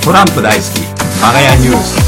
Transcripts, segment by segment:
トランプ大好きマガヤニュース。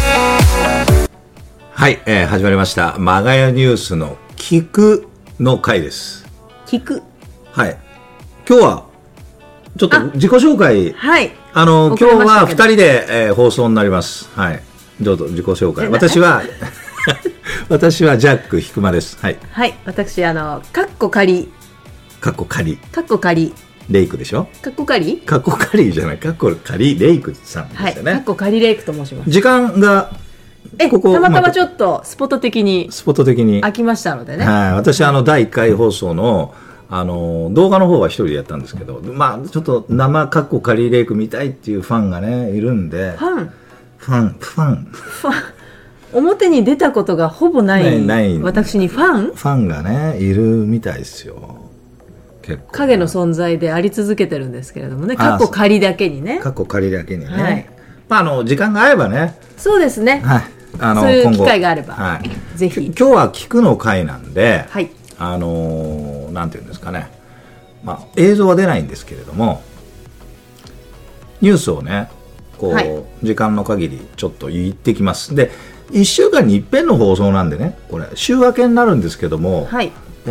はい、始まりましたマガヤニュースの聞くの回です。 聞く。 はい。今日はちょっと自己紹介。 はい。 今日は2人で、放送になります。はい。どうぞ自己紹介。私は私はジャックひくまです。はい。 はい。私カッコ仮。 カッコ仮。 カッコ仮。 レイクでしょ。 カッコ仮？ カッコ仮じゃない。カッコ仮レイクさんですよね。 はい。カッコ仮レイクと申します。 時間がここたまたまちょっとスポット的に空きましたのでね。 はい。私第1回放送の動画の方は一人でやったんですけど、まあちょっと生カッコ仮レイク見たいっていうファンがねいるんで。ファン。 表に出たことがほぼない私にファンがねいるみたいですよ。結構影の存在であり続けてるんですけれどもね。カッコ仮だけにね。 カッコ仮だけにね。 はい、 まあ時間が合えばね。 そうですね。 はい。 そういう機会があれば、 はい、 ぜひ。 今日は聞くの回なんで、 はい、 なんていうんですかね。まあ映像は出ないんですけれども、ニュースをねこう、はい、時間の限りちょっと言ってきます。で。1週間に一遍の放送なんでね、これ週明けになるんですけども、 はい、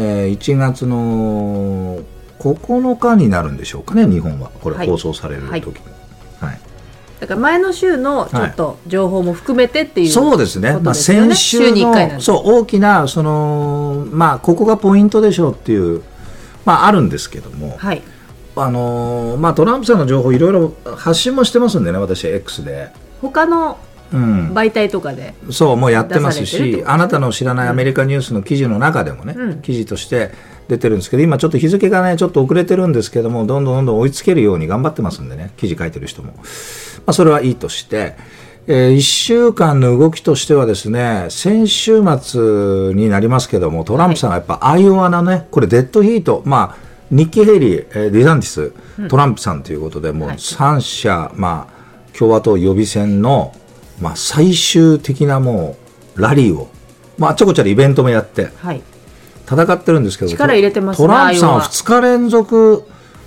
1月の9日になるんでしょうかね、日本はこれ放送される時に、はいはい、 だから前の週のちょっと情報も含めてっていう、 そうですね、まあ、先週の週に1回なんで、 そう大きなまあ、ここがポイントでしょうっていう、まあ、あるんですけども、 はい、 まあ、トランプさんの情報いろいろ発信もしてますんでね、私 X で他の媒体とかで、 そうもうやってますし、あなたの知らないアメリカニュースの記事の中でもね、記事として出てるんですけど、今ちょっと日付がねちょっと遅れてるんですけども、どんどん追いつけるように頑張ってますんでね、記事書いてる人も、まあ、それはいいとして、1週間の動きとしてはですね、先週末になりますけども、トランプさんがやっぱアイオワのね、これデッドヒート、まあニッキー・ヘイリー、デサンティス、トランプさんということで、もう3社、まあ、共和党予備選のまあ、最終的なもうラリーを、まあ、ちょこちょこイベントもやって戦ってるんですけど、 力入れてますね。 トランプさんは2日連続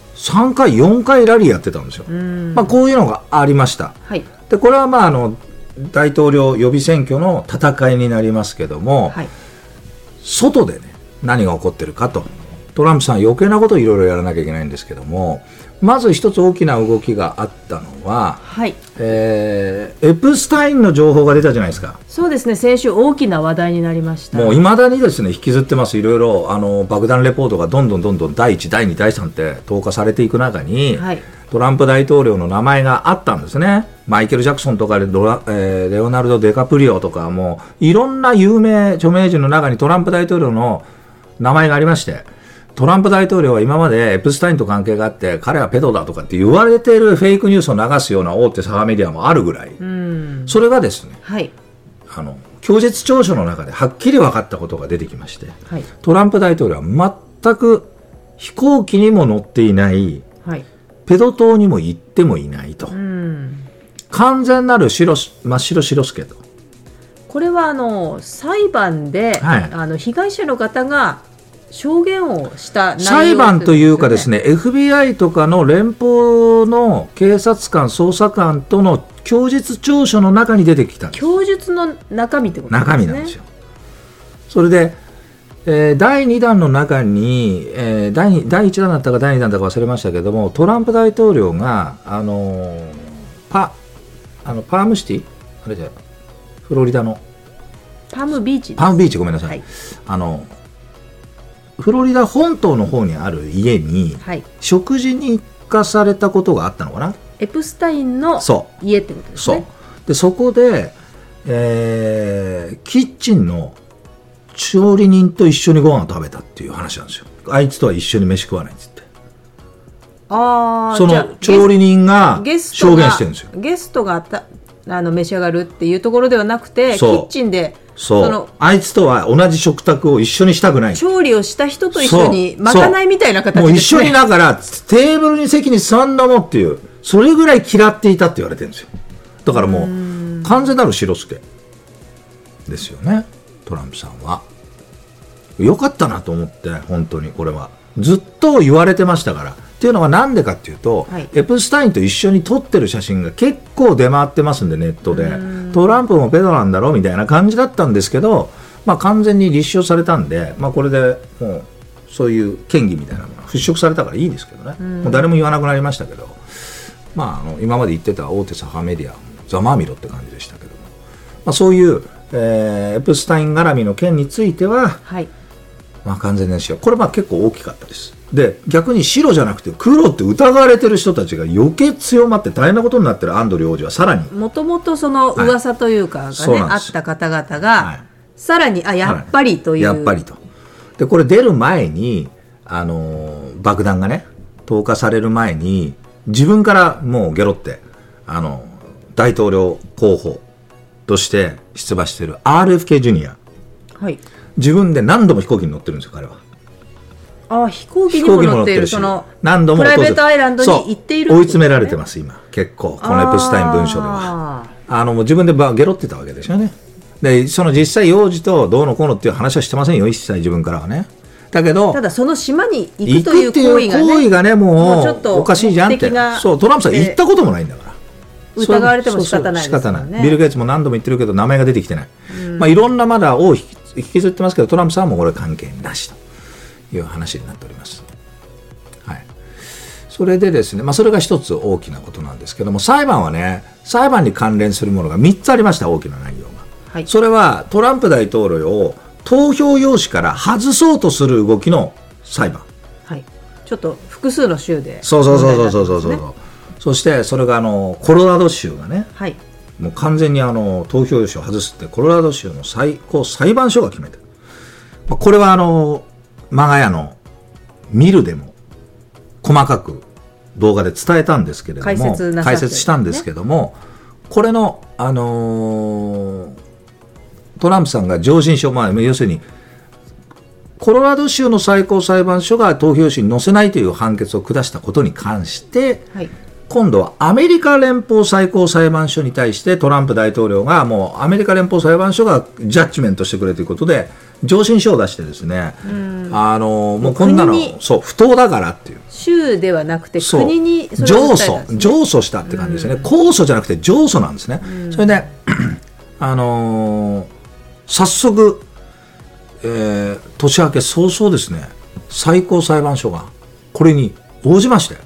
3回4回ラリーやってたんですよ。まあ、こういうのがありました、 はい、 でこれはまあ大統領予備選挙の戦いになりますけども、はい、外でね何が起こってるかと、トランプさん余計なことをいろいろやらなきゃいけないんですけども、まず一つ大きな動きがあったのは、 はい、 エプスタインの情報が出たじゃないですか。 そうですね、先週大きな話題になりました。 もういまだにですね引きずってます。いろいろ爆弾レポートがどんどん第1第2第3って投下されていく中に、はい、トランプ大統領の名前があったんですね。マイケル・ジャクソンとかレオナルド・デカプリオとか、もういろんな有名著名人の中にトランプ大統領の名前がありまして、トランプ大統領は今までエプスタインと関係があって彼はペドだとかって言われているフェイクニュースを流すような大手サガメディアもあるぐらい、それがですね、はい、供述調書の中ではっきり分かったことが出てきまして、はい、トランプ大統領は全く飛行機にも乗っていない、はい、ペド島にも行ってもいないと、完全なる真っ白白助と。 これは裁判で、はい、被害者の方が証言をした内容、ね、 裁判というかですね、 FBI とかの連邦の警察官捜査官との供述調書の中に出てきたんです。 供述の中身ってことですね。 中身なんですよ。それで、第2弾の中に、第1弾だったか第2弾だか忘れましたけども、トランプ大統領がパームシティ、あれじゃフロリダのパームビーチです。 パームビーチ、ごめんなさい、はい、フロリダ本島の方にある家に、はい、食事に行かされたことがあったのかな。 エプスタインの家ってことですね。 そこで、キッチンの調理人と一緒にご飯を食べたっていう話なんですよ。あいつとは一緒に飯食わないっつって。その調理人が証言してるんですよ。 ゲストが召し上がるっていうところではなくて、キッチンであいつとは同じ食卓を一緒にしたくない。 調理をした人と一緒にまかないみたいな形ですね。 もう一緒にだからテーブルに席に座んだもんっていう、それぐらい嫌っていたって言われてるんですよ。だからもう完全なる白助ですよね、トランプさんは。よかったなと思って、本当にこれはずっと言われてましたから、 っていうのはなんでかっていうと、はい、エプスタインと一緒に撮ってる写真が結構出回ってますんで、ネットでトランプもペドなんだろうみたいな感じだったんですけど、まあ、完全に立証されたんで、まあ、これでもうそういう嫌疑みたいなのが払拭されたからいいですけどね、もう誰も言わなくなりましたけど、まあ、今まで言ってた大手左派メディアざまあみろって感じでしたけども、まあ、そういう、エプスタイン絡みの件については、はい、まあ、完全にしよう。これは結構大きかったです。で、逆に白じゃなくて黒って疑われてる人たちが余計強まって大変なことになってるアンドリュー王子はさらにもともとその噂というかがね、あった方々が、はい、さらにやっぱりという、 やっぱりと。でこれ出る前に爆弾がね投下される前に自分からもうゲロって大統領候補として出馬している RFK ジュニア、はい、自分で何度も飛行機に乗ってるんですよ彼は。 飛行機にも乗っている、その何度もプライベートアイランドに行っている、 追い詰められてます今結構このエプスタイン文書ではもう自分でゲロってたわけですよね。でその実際幼児とどうのこうのっていう話はしてませんよ一切自分からはね。だけどただその島に行くという行為がねもうおかしいじゃんって。そうトランプさん行ったこともないんだから疑われても仕方ないですよね。 ビル・ゲイツも何度も言ってるけど名前が出てきてない、まあ、いろんなまだを引きずってますけどトランプさんはもうこれ関係なしという話になっております、はい、それでですね、まあ、それが一つ大きなことなんですけども、裁判はね裁判に関連するものが3つありました。大きな内容が、はい、それはトランプ大統領を投票用紙から外そうとする動きの裁判、 はい、ちょっと複数の州でそう、そしてそれがコロラド州がね、はい、もう完全に投票用紙を外すってコロラド州の最高裁判所が決めてる。これはマガヤのミルでも細かく動画で伝えたんですけれども解説したんですけども、これのトランプさんが上申書、要するにコロラド州の最高裁判所が投票紙に載せないという判決を下したことに関して、はい、今度はアメリカ連邦最高裁判所に対してトランプ大統領がもうアメリカ連邦裁判所がジャッジメントしてくれということで上申書を出してですね、もうこんなのそう不当だからっていう州ではなくて国にそれを訴えたんですね。上訴したって感じですね。控訴じゃなくて上訴なんですね。それで早速、年明け早々ですね最高裁判所がこれに応じまして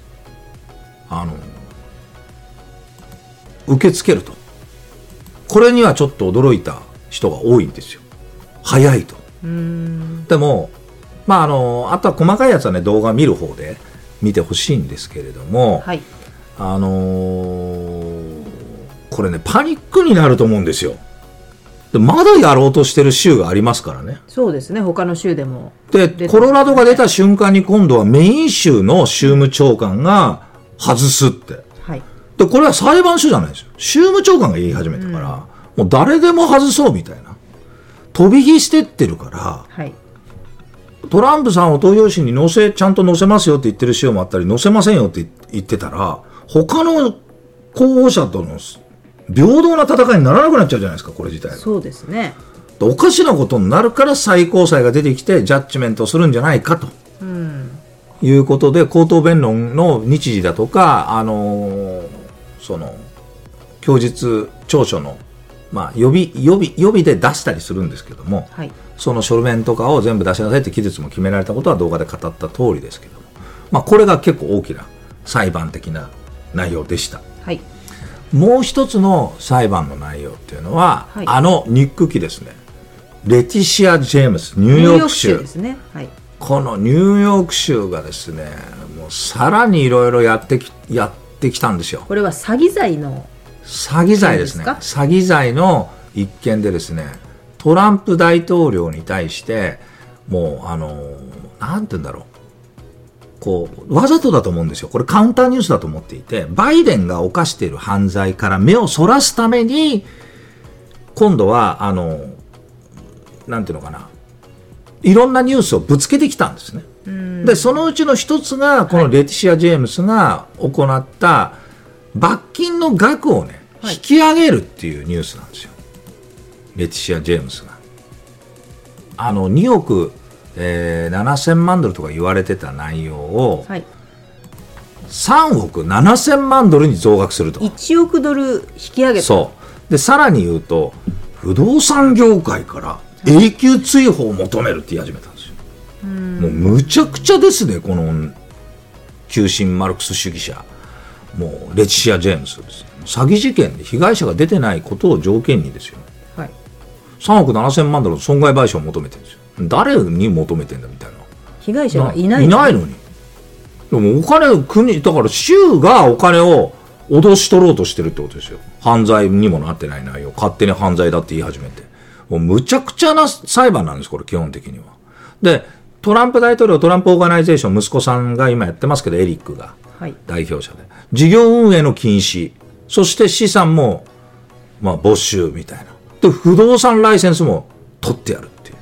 受け付けると。これにはちょっと驚いた人が多いんですよ。早いと。でも、あとは細かいやつはね動画見る方で見てほしいんですけれども、はい、これねパニックになると思うんですよ。でまだやろうとしてる州がありますからね。 そうですね、他の州でもでコロラドが出た瞬間に今度はメイン州の州務長官が外すって、はい、でこれは裁判所じゃないですよ。州務長官が言い始めたから、もう誰でも外そうみたいな飛び火してってるから、はい、トランプさんを投票紙にちゃんと載せますよって言ってる州もあったり載せませんよって言ってたら他の候補者との平等な戦いにならなくなっちゃうじゃないですかこれ自体が。 そうですね。 おかしなことになるから最高裁が出てきてジャッジメントをするんじゃないかと、いうことで口頭弁論の日時だとかその供述調書の予備で出したりするんですけども、はい、その書面とかを全部出しなさいって期日も決められたことは動画で語った通りですけども、これが結構大きな裁判的な内容でした。はい、もう一つの裁判の内容っていうのは、はい、ニック記ですね。レティシア・ジェームスニューヨーク州ですね。はい、 このニューヨーク州がですねもうさらにいろいろやってきたんですよ。 これは詐欺罪ですね。詐欺罪の一件でですねトランプ大統領に対してもうなんて言うんだろうわざとだと思うんですよ。これカウンターニュースだと思っていてバイデンが犯している犯罪から目をそらすために今度はなんていうのかないろんなニュースをぶつけてきたんですね。でそのうちの一つがこのレティシア・ジェームスが行った罰金の額をね、はい、引き上げるっていうニュースなんですよ。レティシア・ジェームスが2億7000万ドルとか言われてた内容を、はい、 3億7000万ドルに増額すると。 1億ドル引き上げた。 そうでさらに言うと不動産業界から永久追放を求めるって言い始めたんですよ。もうむちゃくちゃですね、この急進マルクス主義者、もうレティシア・ジェームスです、ね、詐欺事件で被害者が出てないことを条件にですよ、はい、3億7000万ドルの損害賠償を求めてるんですよ。誰に求めてんだみたいな。 被害者がいないのに。でもお金国だから州がお金を脅し取ろうとしてるってことですよ。犯罪にもなってない内容、勝手に犯罪だって言い始めて、もうむちゃくちゃな裁判なんです、これ基本的には。でトランプ大統領、トランプオーガナイゼーション、息子さんが今やってますけど、エリックが代表者で、事業運営の禁止、そして資産も没収みたいな。で不動産ライセンスも取ってやるっていう、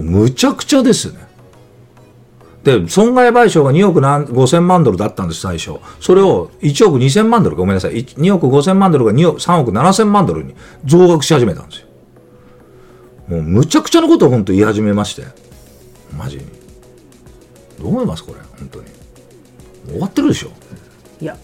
もうむちゃくちゃですね。で損害賠償が2億5000万ドルだったんです最初。それを1億2000万ドル、ごめんなさい、2億5000万ドルが3億7000万ドルに増額し始めたんですよ。もうむちゃくちゃなことを本当言い始めまして、マジにどう思いますこれ。本当に終わってるでしょ。 いや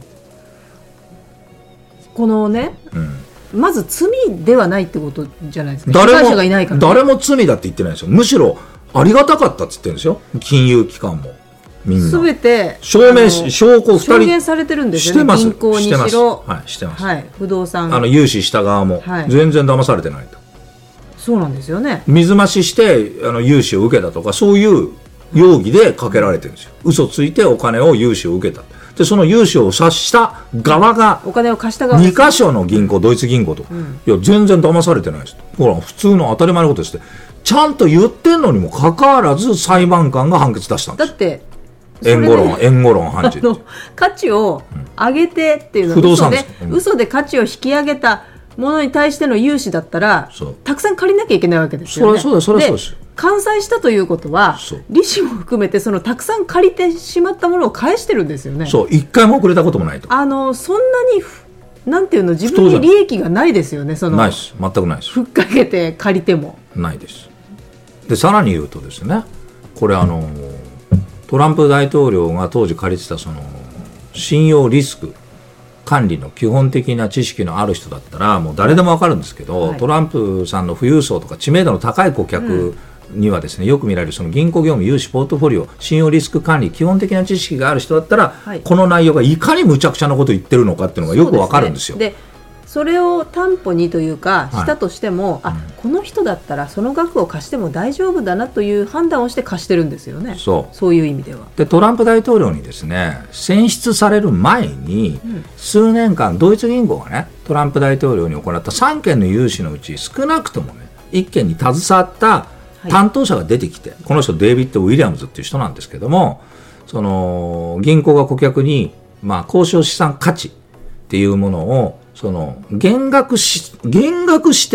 このね、まず罪ではないってことじゃないですか。被害者がいないから、ね、 誰も罪だって言ってないですよ。むしろありがたかったって言ってるんですよ、金融機関も。みんな全て証拠2人証言されてるんですよね。銀行にしろ、 してます、 はい、不動産融資した側も、はい、全然騙されてないと。 そうなんですよね。 水増しして融資を受けたとか、そういう容疑でかけられてるんですよ。嘘ついてお金を融資を受けた。でその融資を察した側が、 お金を貸した側 2カ所の銀行、ドイツ銀行と、いや全然騙されてないですと。ほら普通の当たり前のことですってちゃんと言ってんのにもかかわらず裁判官が判決出したんです。 だって援護論判事価値を上げてっていうのは、 不動産嘘で価値を引き上げたものに対しての融資だったらたくさん借りなきゃいけないわけですよね。 そうです。 完済したということは利子も含めてたくさん借りてしまったものを返してるんですよね。 そう、一回も遅れたこともないと。 そんなになんていうの、自分に利益がないですよね。 ないです、全くないです。 ふっかけて借りてもないです。でさらに言うとですね、これトランプ大統領が当時借りてた信用リスク管理の基本的な知識のある人だったらもう誰でも分かるんですけど、はい、トランプさんの富裕層とか知名度の高い顧客にはですね、よく見られる銀行業務、融資、ポートフォリオ、信用リスク管理、基本的な知識がある人だったら、はい、この内容がいかに無茶苦茶なことを言ってるのかっていうのがよく分かるんですよ。 でそれを担保にというかしたとしても、はい、この人だったらその額を貸しても大丈夫だなという判断をして貸してるんですよね。そういう意味では。 でトランプ大統領にですね選出される前に、数年間ドイツ銀行がねトランプ大統領に行った3件の融資のうち少なくともね1件に携わった担当者が出てきて、はい、この人デイビッド・ウィリアムズっていう人なんですけども、銀行が顧客に、交渉資産価値っていうものを減額して、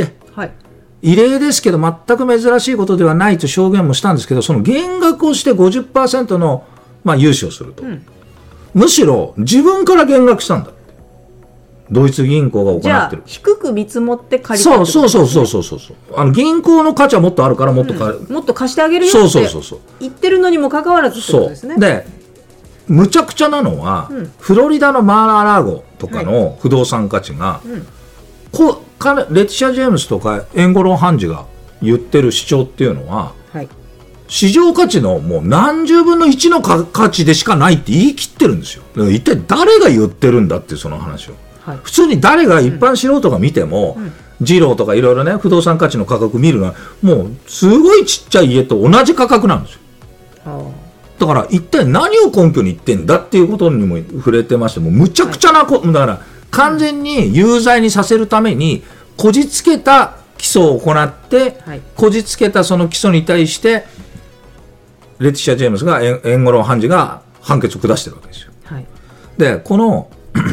はい、異例ですけど全く珍しいことではないと証言もしたんですけど、その減額をして 50% の、融資をすると、むしろ自分から減額したんだ。ドイツ銀行が行ってる。じゃあ低く見積もって借りたってことですね。 そう銀行の価値はもっとあるからもっと貸してあげるよって言ってるのにもかかわらずってことですね。 でむちゃくちゃなのは、フロリダのマー・ア・ラーゴとかの不動産価値が、レティシア・ジェームスとかエンゴロン判事が言ってる主張っていうのは、市場価値のもう何十分の1の価値でしかないって言い切ってるんですよ。一体誰が言ってるんだっていうその話を、普通に誰が一般素人が見ても、ジローとかいろいろね不動産価値の価格見るのはもうすごいちっちゃい家と同じ価格なんですよ。だから一体何を根拠に言ってんだっていうことにも触れてまして、もうむちゃくちゃなだから完全に有罪にさせるためにこじつけた起訴を行って、こじつけたその起訴に対してレティシア・ジェームスがエンゴロン判事が判決を下してるわけですよ。でこの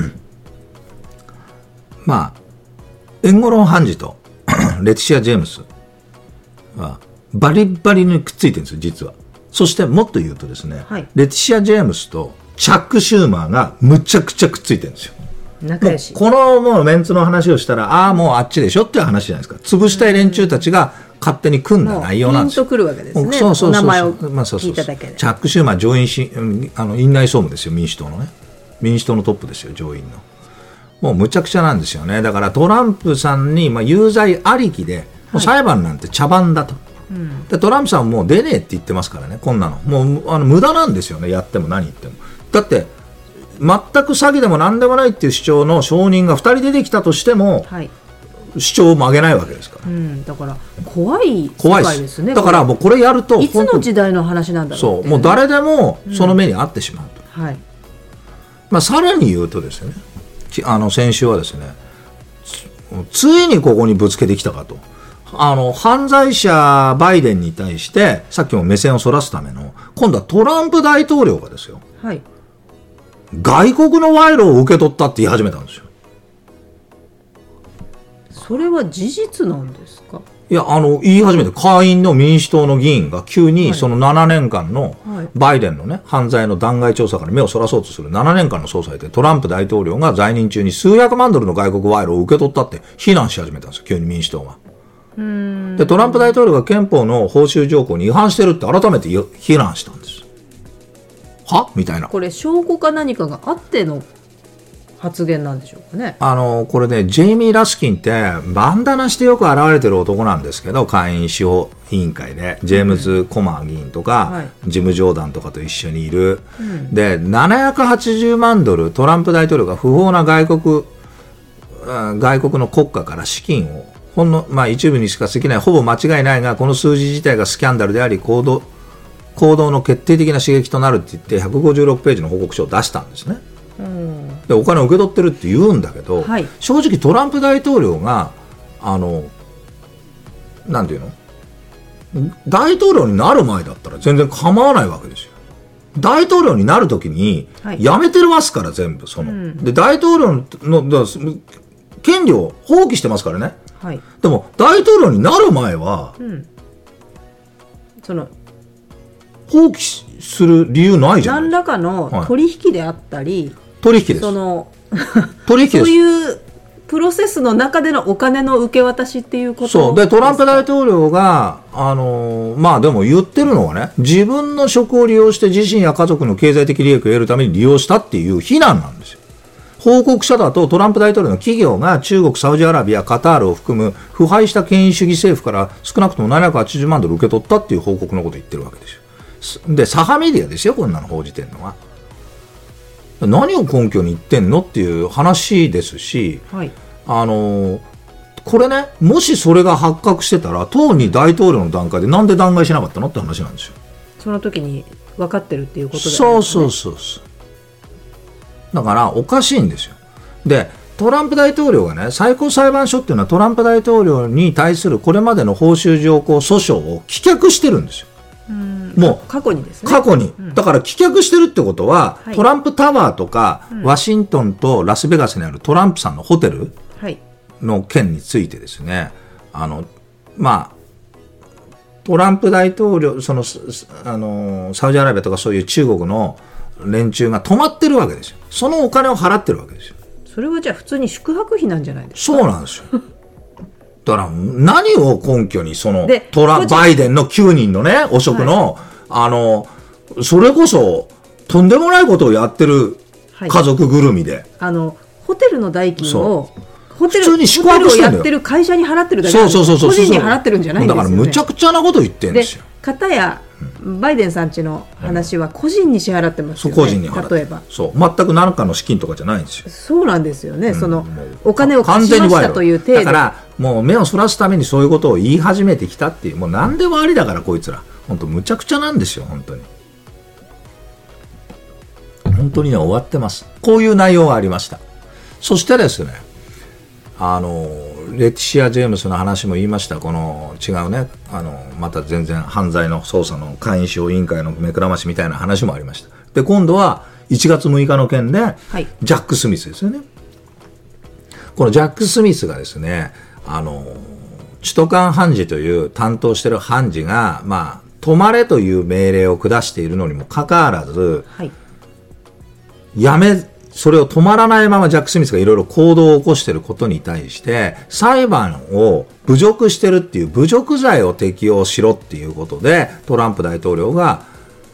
エンゴロン判事とレティシア・ジェームスはバリバリにくっついてるんですよ実は。そしてもっと言うとですね、レティシア・ジェームスとチャック・シューマーがむちゃくちゃくっついてるんですよ。 仲良し。 このもうメンツの話をしたらもうあっちでしょっていう話じゃないですか。潰したい連中たちが勝手に組んだ内容なんですよ。 ピンとくるわけですね。 そうそうそうそう、 お名前を聞いただけで。 チャック・シューマー上院院内総務ですよ、民主党のね。民主党のトップですよ、上院の。もうむちゃくちゃなんですよね。だからトランプさんに有罪ありきで、もう裁判なんて茶番だと、でトランプさんもう出ねえって言ってますからね、こんなのもう無駄なんですよね、やっても何言っても。だって全く詐欺でも何でもないっていう主張の証人が2人出てきたとしても、主張を曲げないわけですから、 だから怖い世界ですね。 だからもうこれやるといつの時代の話なんだろうって、 そうもう誰でもその目に遭ってしまうと、さらに言うとですね、先週はですね、ついにここにぶつけてきたかと。犯罪者バイデンに対してさっきも目線をそらすための、今度はトランプ大統領がですよ、外国の賄賂を受け取ったって言い始めたんですよ。 それは事実なんですか？ いや、言い始めて、下院の民主党の議員が急にその7年間のバイデンのね、犯罪の弾劾調査から目をそらそうとする7年間の捜査で、トランプ大統領が在任中に数百万ドルの外国賄賂を受け取ったって非難し始めたんですよ、急に民主党が。でトランプ大統領が憲法の報酬条項に違反してるって改めて非難したんです。はみたいな。 これ証拠か何かがあっての発言なんでしょうかね。 これね、ジェイミー・ラスキンってバンダナしてよく現れてる男なんですけど、下院司法委員会でジェームズ・コマー議員とか、ジム・ジョーダンとかと一緒にいる、で780万ドルトランプ大統領が不法な外国の国家から資金をほんの、一部にしかできない、ほぼ間違いないが、この数字自体がスキャンダルであり行動の決定的な刺激となるって言って156ページの報告書を出したんですね。でお金を受け取ってるって言うんだけど、正直トランプ大統領がなんていうの、大統領になる前だったら全然構わないわけですよ。大統領になるときにやめてますから、全部で大統領の権利を放棄してますからね。でも大統領になる前は、放棄する理由ないじゃないですか。 何らかの取引であったり、 取引です。取引です。 そういうプロセスの中でのお金の受け渡しっていうことですか。 そうでトランプ大統領がでも言ってるのはね、自分の職を利用して自身や家族の経済的利益を得るために利用したっていう非難なんですよ。報告書だとトランプ大統領の企業が中国、サウジアラビア、カタールを含む腐敗した権威主義政府から少なくとも780万ドル受け取ったっていう報告のことを言ってるわけですよ。で左派メディアですよ、こんなの報じてるのは。何を根拠に言ってんのっていう話ですし、これね、もしそれが発覚してたら当に大統領の段階でなんで弾劾しなかったのって話なんですよ。 その時に分かってるっていうことだよね。 そうだからおかしいんですよ。でトランプ大統領がね、最高裁判所っていうのはトランプ大統領に対するこれまでの報酬条項訴訟を棄却してるんですよ。もう過去にですね。 過去に、だから棄却してるってことは、トランプタワーとか、ワシントンとラスベガスにあるトランプさんのホテルの件についてですね、トランプ大統領サウジアラビアとかそういう中国の連中が止まってるわけですよ。そのお金を払ってるわけですよ。 それはじゃあ普通に宿泊費なんじゃないですか。 そうなんですよ。だから何を根拠にバイデンの9人のね汚職の、それこそとんでもないことをやってる家族ぐるみで、 ホテルの代金をホテルをやってる会社に払ってるだけなんですよ。個人に払ってるんじゃないんですよね。 だからむちゃくちゃなこと言ってるんですよ。 片やバイデンさんちの話は個人に支払ってますよね。 個人に払って、例えば全く何かの資金とかじゃないんですよ。 そうなんですよね。そのお金を貸しましたという程度だからもう目をそらすためにそういうことを言い始めてきたっていう、もう何でもありだからこいつら本当むちゃくちゃなんですよ。本当にね、終わってます。こういう内容がありました。そしてですね、レティシア・ジェームスの話も言いました。この違うね、また全然犯罪の捜査の下院司法委員会の目くらましみたいな話もありました。で今度は1月6日の件で、ジャック・スミスですよね。このジャック・スミスがですね、首都間判事という担当している判事が、止まれという命令を下しているのにもかかわらず、 それを止まらないままジャック・スミスがいろいろ行動を起こしていることに対して裁判を侮辱してるっていう侮辱罪を適用しろっていうことでトランプ大統領が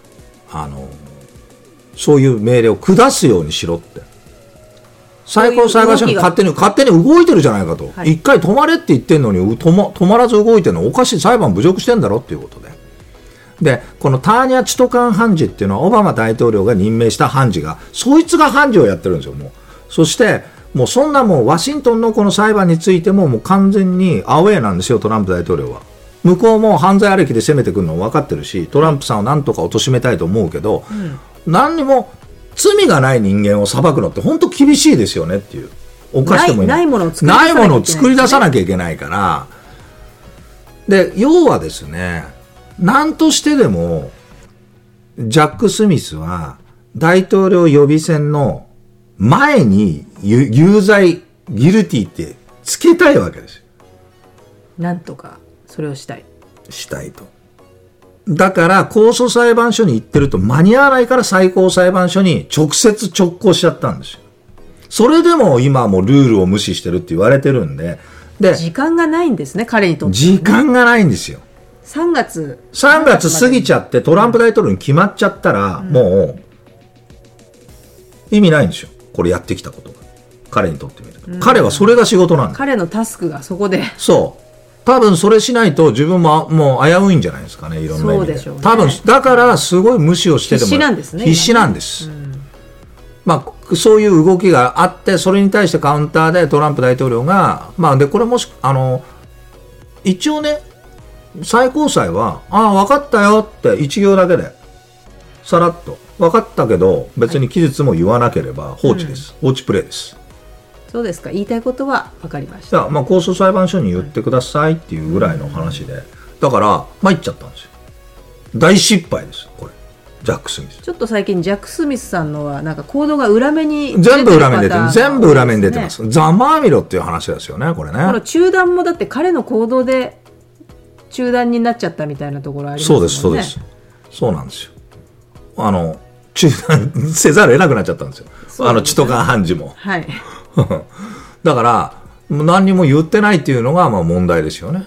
そういう命令を下すようにしろって最高裁判所に勝手に動いてるじゃないかと、一回止まれって言ってんのに止まらず動いてるのおかしい、裁判侮辱してんだろっていうことでこのターニャ・チトカン判事っていうのはオバマ大統領が任命した判事がそいつが判事をやってるんですよ。もうそしてもうそんなもうワシントンのこの裁判についてももう完全にアウェーなんですよトランプ大統領は。向こうも犯罪ありきで攻めてくるの分かってるしトランプさんをなんとか貶めたいと思うけど、何にも罪がない人間を裁くのって本当厳しいですよねっていう。おかしくもないものを作り出さなきゃいけないから。で要はですね、何としてでもジャック・スミスは大統領予備選の前に有罪ギルティってつけたいわけですよ。 なんとかそれをしたいと。だから控訴裁判所に行ってると間に合わないから最高裁判所に直接直行しちゃったんですよ。それでも今はもうルールを無視してるって言われてるんで、 時間がないんですね彼にとって、 時間がないんですよ。 3月過ぎちゃってトランプ大統領に決まっちゃったら、もう意味ないんですよこれやってきたことが彼にとってみると、彼はそれが仕事なんだ。 彼のタスクがそこでそう多分それしないと自分ももう危ういんじゃないですかね、いろんな意味で。 そうでしょうね、 多分だからすごい無視をしてでも必死なんですね。 必死なんです、そういう動きがあってそれに対してカウンターでトランプ大統領が、でこれもし一応ね最高裁は分かったよって一行だけでさらっと分かったけど別に期日も言わなければ放置です、放置プレイです。 そうですか、言いたいことは分かりました。 控訴裁判所に言ってくださいっていうぐらいの話で、だから参っちゃったんですよ。大失敗ですこれジャック・スミス。 ちょっと最近ジャック・スミスさんのはなんか行動が裏目に全部裏目に出てる、全部裏目に出てます。ざまあみろっていう話ですよねこれね。 この中断もだって彼の行動で中断になっちゃったみたいなところありますもんね。 そうですそうなんですよ。中断せざるを得なくなっちゃったんですよ、チトカン判事も。 はいだから何にも言ってないっていうのが問題ですよね。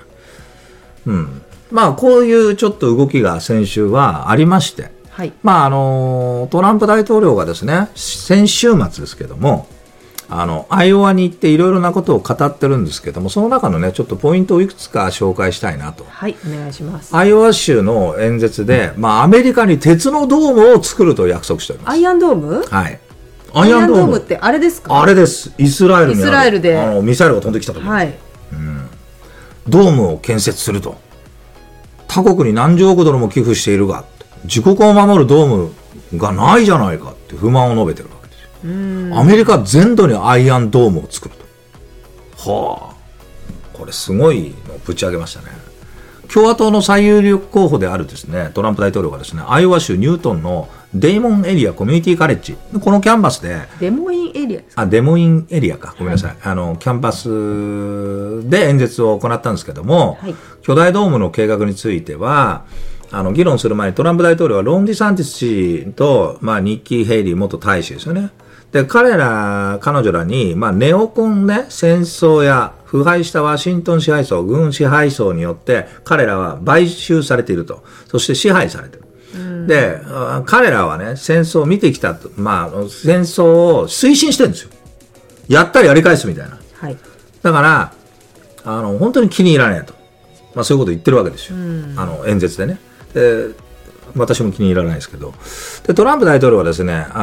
こういうちょっと動きが先週はありまして、 はい、 トランプ大統領がですね先週末ですけどもアイオワに行っていろいろなことを語ってるんですけども、その中のねちょっとポイントをいくつか紹介したいなと。 はい、お願いします。 アイオワ州の演説で、アメリカに鉄のドームを作ると約束しております。 アイアンドーム？ はい。 アイアンドームってあれですか？ あれです。イスラエルにあるでミサイルが飛んできた時に、 はい、 ドームを建設すると。他国に何十億ドルも寄付しているが自国を守るドームがないじゃないかって不満を述べてるわけですよ。アメリカ全土にアイアンドームを作ると。これすごいのをぶち上げましたね。共和党の最有力候補であるですねトランプ大統領がですねアイオワ州ニュートンのデーモンエリアコミュニティカレッジこのキャンパスでデモインエリアですか？ デモインエリアかごめんなさい、キャンパスで演説を行ったんですけども、巨大ドームの計画については議論する前にトランプ大統領はロン・ディサンティス氏と、ニッキー・ヘイリー元大使ですよね。で彼女らに、ネオコンね戦争や腐敗したワシントン支配層軍支配層によって彼らは買収されていると、そして支配されている。で彼らはね戦争を見てきたと、戦争を推進してるんですよ。やったらやり返すみたいな、だから本当に気に入らないと、そういうこと言ってるわけですよ、演説でね。で私も気に入らないですけど、でトランプ大統領はですね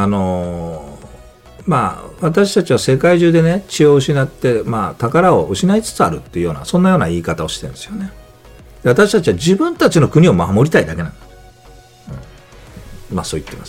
私たちは世界中でね血を失って、宝を失いつつあるっていうようなそんなような言い方をしてるんですよね。で私たちは自分たちの国を守りたいだけなんだ、そう言ってます。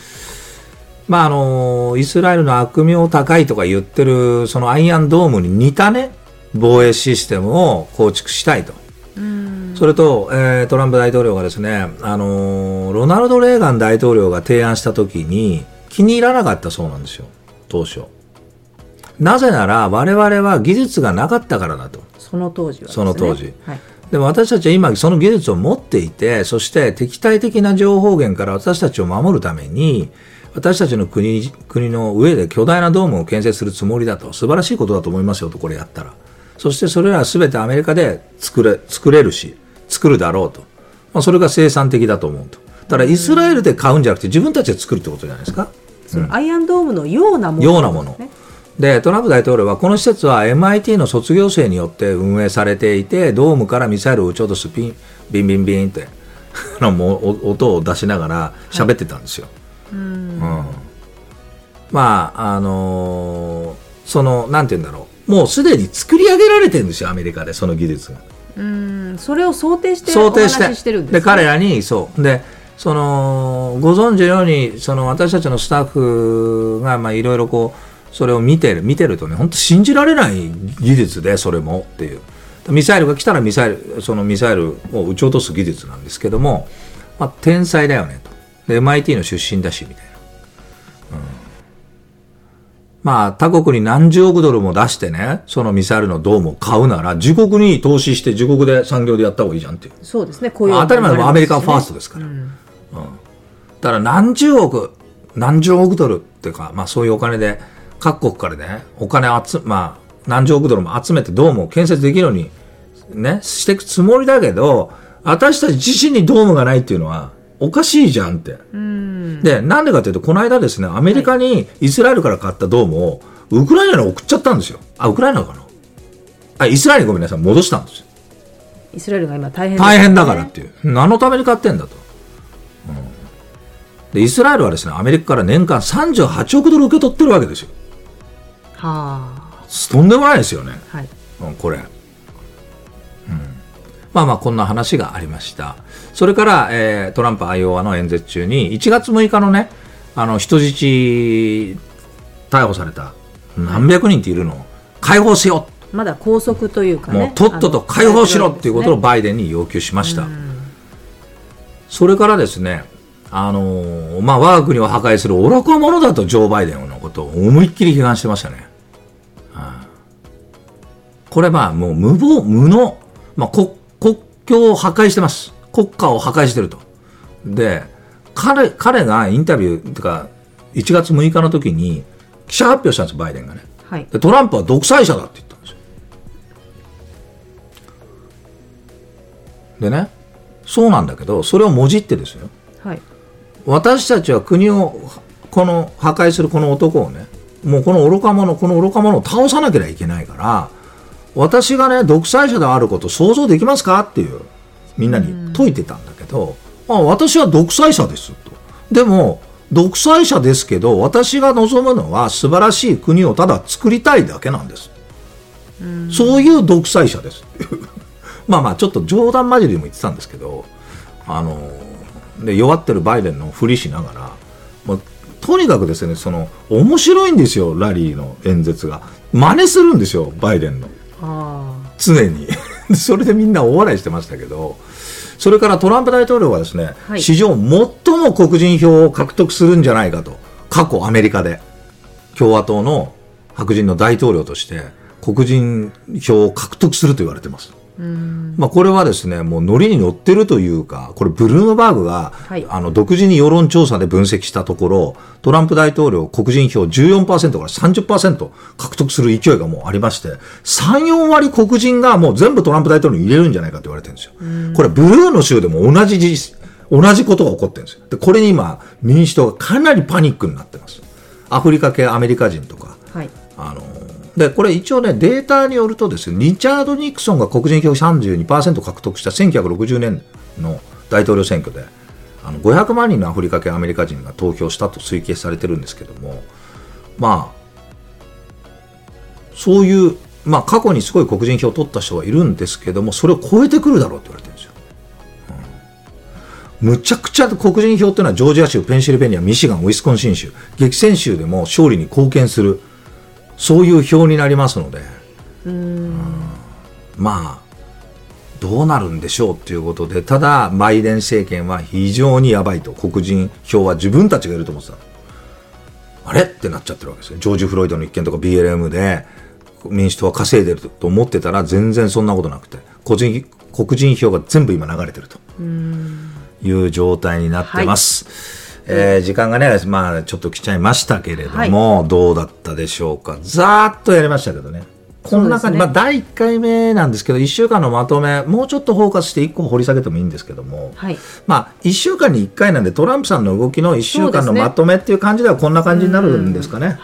イスラエルの悪名高いとか言ってるそのアイアンドームに似たね防衛システムを構築したいと。それと、トランプ大統領がですねロナルド・レーガン大統領が提案した時に気に入らなかったそうなんですよ当初。なぜなら我々は技術がなかったからだと。 その当時はですね。 その当時、でも私たちは今その技術を持っていて、そして敵対的な情報源から私たちを守るために私たちの国の上で巨大なドームを建設するつもりだと、素晴らしいことだと思いますよと、これやったら。そしてそれらは全てアメリカで作れるし、作るだろうと。それが生産的だと思うと。だからイスラエルで買うんじゃなくて自分たちで作るってことじゃないですか。 そのアイアンドームのようなもの、 ようなもの。で、トランプ大統領はこの施設は MIT の卒業生によって運営されていて、ドームからミサイルを撃ち落とすビンビンビンって音を出しながら喋ってたんですよ。まあなんて言うんだろう、もうすでに作り上げられてるんですよ、アメリカでその技術が。 それを想定してお話ししてるんですね。 で彼らにそうでご存知のように私たちのスタッフがいろいろこうそれを見てるとね、本当信じられない技術で、それもっていう、ミサイルが来たらそのミサイルを撃ち落とす技術なんですけども、天才だよねと。で MIT の出身だしみたいな、他国に何十億ドルも出してね、そのミサイルのドームを買うなら自国に投資して自国で産業でやった方がいいじゃんっていう。 そうですね、 当たり前のアメリカファーストですから、だから何十億ドルっていうか、そういうお金で各国からね、お金何十億ドルも集めてドームを建設できるようにねしていくつもりだけど、私たち自身にドームがないっていうのはおかしいじゃんって。で、なんでかというと、この間ですね、アメリカにイスラエルから買ったドームをウクライナに送っちゃったんですよ。ウクライナかな、イスラエルにごめんなさい、戻したんですよ。 イスラエルが今大変だからっていう。何のために買ってんだと。でイスラエルはですね、アメリカから年間38億ドル受け取ってるわけですよ。とんでもないですよね、これ。こんな話がありました。それから、トランプアイオワの演説中に1月6日のね、人質逮捕された何百人っているのを解放しよう、 まだ拘束というかね、 もうとっとと解放しろっていうことをバイデンに要求しました。それからですね、我が国を破壊する愚か者だとジョー・バイデンのことを思いっきり批判してましたね。これもう無能、国境を破壊してます。国家を破壊してると。で、彼がインタビューというか1月6日の時に記者発表したんです、バイデンがね。でトランプは独裁者だって言ったんですよ。でね、そうなんだけど、それをもじってですよ。私たちは国を破壊するこの男をね、もうこの愚か者を倒さなければいけないから、私がね独裁者であることを想像できますかっていうみんなに問いてたんだけど、私は独裁者ですと。でも独裁者ですけど、私が望むのは素晴らしい国をただ作りたいだけなんです。そういう独裁者ですちょっと冗談交じりでも言ってたんですけど、で弱ってるバイデンのふりしながら、とにかくですね、面白いんですよ、ラリーの演説が。真似するんですよ、バイデンの。常にそれでみんな大笑いしてましたけど、それからトランプ大統領はですね、史上最も黒人票を獲得するんじゃないかと。過去アメリカで共和党の白人の大統領として黒人票を獲得すると言われてます。これはですね、もうノリに乗ってるというか、これブルームバーグが、独自に世論調査で分析したところ、トランプ大統領黒人票 14% から 30% 獲得する勢いがもうありまして、3、4割黒人がもう全部トランプ大統領に入れるんじゃないかと言われてるんですよ。これブルーの州でも同じことが起こってるんですよ。でこれに今民主党がかなりパニックになってます。アフリカ系アメリカ人とか、でこれ一応ね、データによるとですね、リチャード・ニクソンが黒人票 32% 獲得した1960年の大統領選挙で500万人のアフリカ系アメリカ人が投票したと推計されてるんですけども、そういう過去にすごい黒人票を取った人がいるんですけども、それを超えてくるだろうって言われてるんですよ。むちゃくちゃ黒人票っていうのはジョージア州、ペンシルベニア、ミシガン、ウィスコンシン州、激戦州でも勝利に貢献する、そういう票になりますので、どうなるんでしょうということで、ただバイデン政権は非常にやばいと。黒人票は自分たちがいると思ってた、あれってなっちゃってるわけですよ。ジョージ・フロイドの一件とか BLM で民主党は稼いでると思ってたら、全然そんなことなくて、黒人票が全部今流れてるという状態になってます。 時間がね、まあちょっと来ちゃいましたけれども、どうだったでしょうか。ざーっとやりましたけどね。この中に、まあ第1回目なんですけど、1週間のまとめ、もうちょっとフォーカスして1個掘り下げてもいいんですけども、まあ1週間に1回なんで、トランプさんの動きの1週間のまとめっていう感じではこんな感じになるんですかね。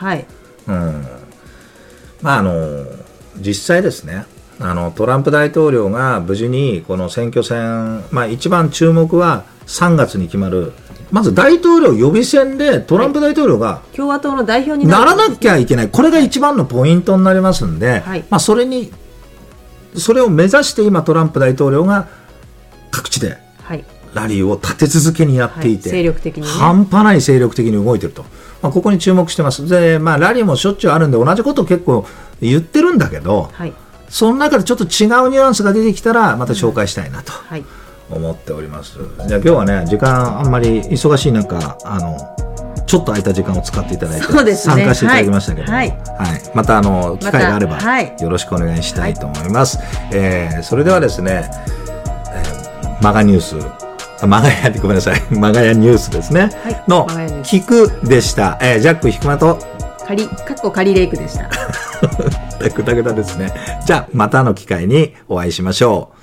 まあ実際ですね、トランプ大統領が無事にこの選挙戦、まあ一番注目は3月に決まる、まず大統領予備選でトランプ大統領が共和党の代表にならなきゃいけない、これが一番のポイントになりますんで、まあそれを目指して今トランプ大統領が各地でラリーを立て続けにやっていて、 精力的にね、 半端ない精力的に動いていると、まあ、ここに注目してます。で、まあ、ラリーもしょっちゅうあるんで同じことを結構言ってるんだけど、その中でちょっと違うニュアンスが出てきたらまた紹介したいなと思っております。じゃあ今日はね、時間あんまり忙しい中、ちょっと空いた時間を使っていただいて、参加していただきましたけども、また機会があればよろしくお願いしたいと思います。それではですね、マガニュース、マガヤニュースですね、の聞くでした。ジャックひくまとカリレイクでした。 ぐだぐだですね。じゃあまたの機会にお会いしましょう。